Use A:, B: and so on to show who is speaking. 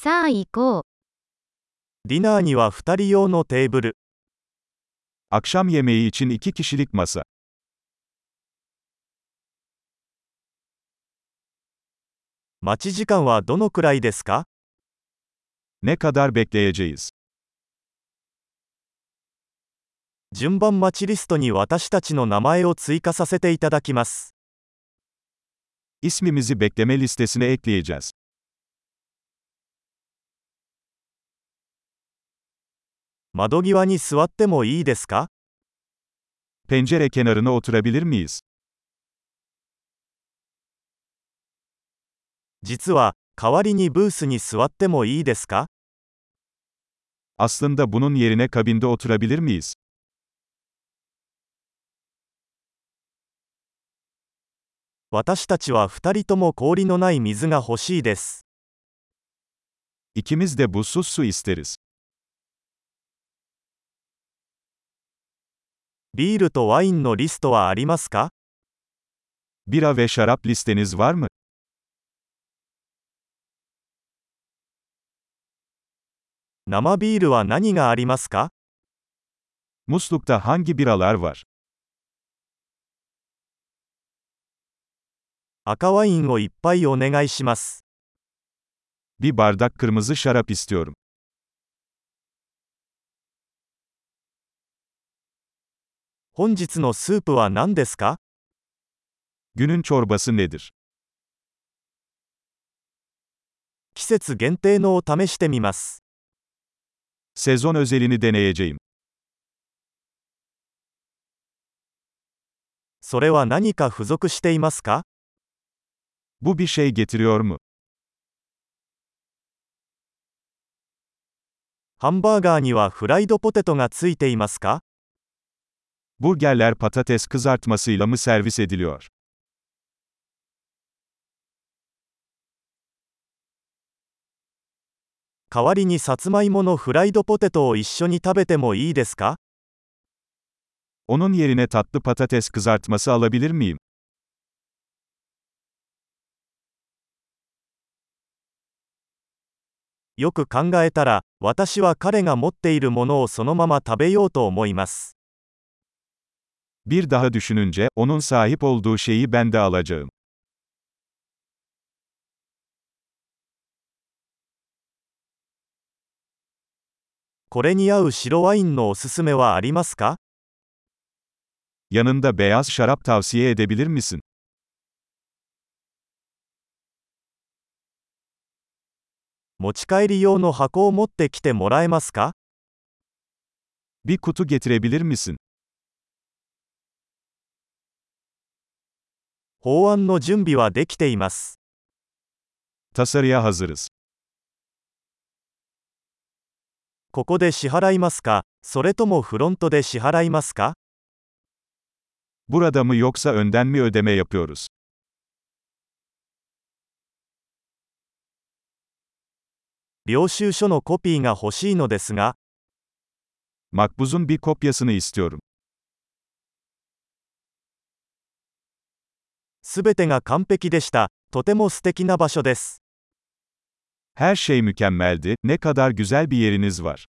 A: さあ行こう。
B: ディナーには2人用のテーブル。
C: Akşam yemeği için 2 kişilik masa.
B: 待ち時間はどのくらいですか？
C: Ne kadar bekleyeceğiz?
B: 順番待ちリストに私たちの名前を追加させていただきます。
C: İsmimizi bekleme listesine ekleyeceğiz.
B: 窓際に座ってもいいですか？
C: Pencere kenarına oturabilir miyiz?
B: 実は、代わりにブースに座ってもいいですか？
C: Aslında bunun yerine kabinde oturabilir miyiz?
B: 私たちは2人とも氷のない水が欲しいです。
C: İkimiz de buzsuz su isteriz.
B: ビールとワインのリストはありますか？
C: Bira ve şarap listeniz var mı?
B: 生ビールは何がありますか？
C: Muslukta hangi biralar var?
B: 赤ワインをいっぱいお願いします。
C: Bir bardak kırmızı şarap istiyorum.
B: 本日のスープは何ですか？
C: Günün çorbası nedir?
B: 季節限定のを試してみます。
C: Sezon özelini deneyeceğim.
B: それは何か付属していますか？
C: Bu bir şey getiriyor mu?
B: ハンバーガーにはフライドポテトがついていますか？
C: Burgerler patates kızartmasıyla mı servis ediliyor?
B: 代わりにさつまいものフライドポテトを一緒に食べてもいいですか？
C: Onun yerine tatlı patates kızartması alabilir miyim?
B: よく考えたら、私は彼が持っているものをそのまま食べようと思います。
C: Bir daha düşününce, onun sahip olduğu şeyi ben de alacağım.
B: これに合う白ワインのおすすめはありますか？
C: Yanında beyaz şarap tavsiye edebilir misin?
B: 持ち帰り用の箱を持ってきてもらえますか？
C: Bir kutu getirebilir misin?
B: 法案の準備はできています。
C: Tasarıya hazırız.
B: ここで支払いますか、それともフロントで支払いますか？
C: Burada mı yoksa önden mi ödeme yapıyoruz?
B: 領収書のコピーが欲しいのですが、
C: Makbuzun bir kopyasını istiyorum.
B: すべてが完璧でした。とても素敵な場所です。
C: Her şey mükemmeldi, ne kadar güzel bir yeriniz var.